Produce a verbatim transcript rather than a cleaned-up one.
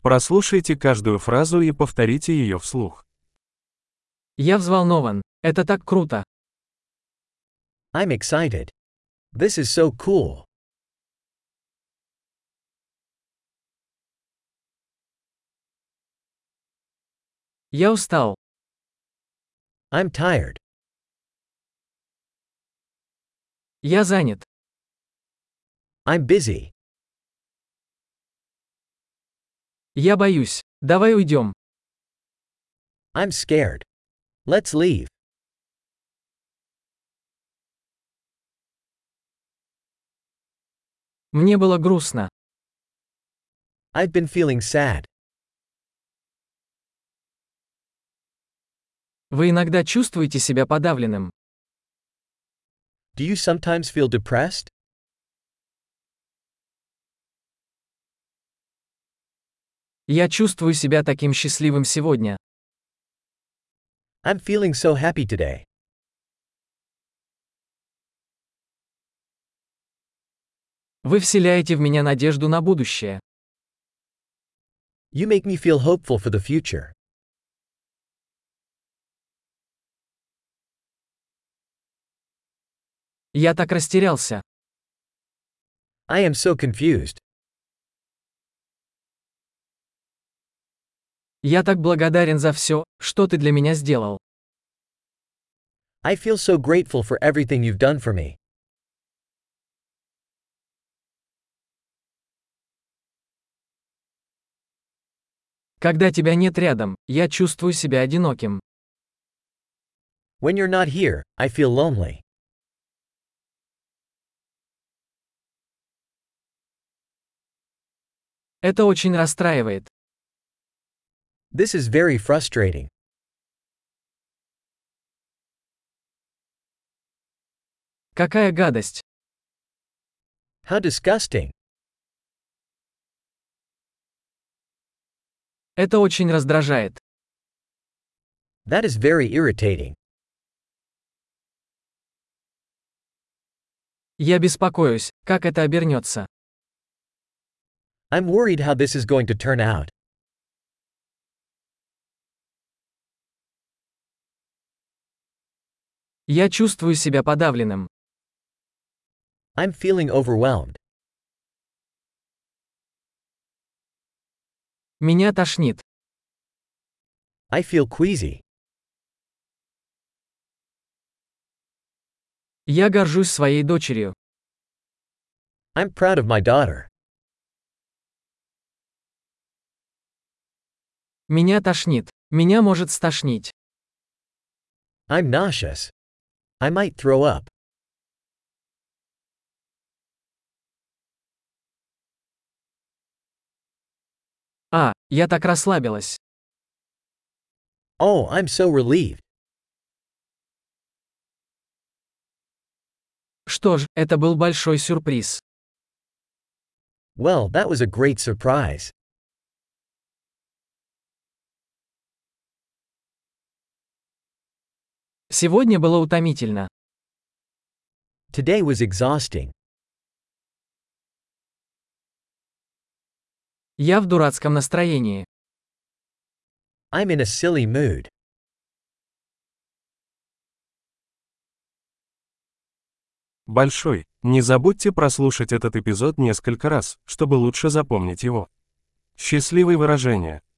Прослушайте каждую фразу и повторите ее вслух. Я взволнован. Это так круто. I'm excited. This is so cool. Я устал. I'm tired. Я занят. I'm busy. Я боюсь. Давай уйдем. I'm scared. Let's leave. Мне было грустно. I've been feeling sad. Вы иногда чувствуете себя подавленным. Do you sometimes feel depressed? Я чувствую себя таким счастливым сегодня. I'm feeling so happy today. Вы вселяете в меня надежду на будущее. You make me feel hopeful for the future. Я так растерялся. I am so confused. Я так благодарен за все, что ты для меня сделал. I feel so grateful for everything you've done for me. Когда тебя нет рядом, я чувствую себя одиноким. When you're not here, I feel lonely. Это очень расстраивает. This is very frustrating. Какая гадость. How disgusting. Это очень раздражает. That is very irritating. Я беспокоюсь, как это обернется. I'm worried how this is going to turn out. Я чувствую себя подавленным. I'm feeling overwhelmed. Меня тошнит. I feel queasy. Я горжусь своей дочерью. I'm proud of my daughter. Меня тошнит. Меня может стошнить. I'm nauseous. I might throw up. А, я так расслабилась. Oh, I'm so relieved. Что ж, это был большой сюрприз. Well, that was a great surprise. Сегодня было утомительно. Today was exhausting. Я в дурацком настроении. I'm in a silly mood. Большой. Не забудьте прослушать этот эпизод несколько раз, чтобы лучше запомнить его. Счастливые выражения.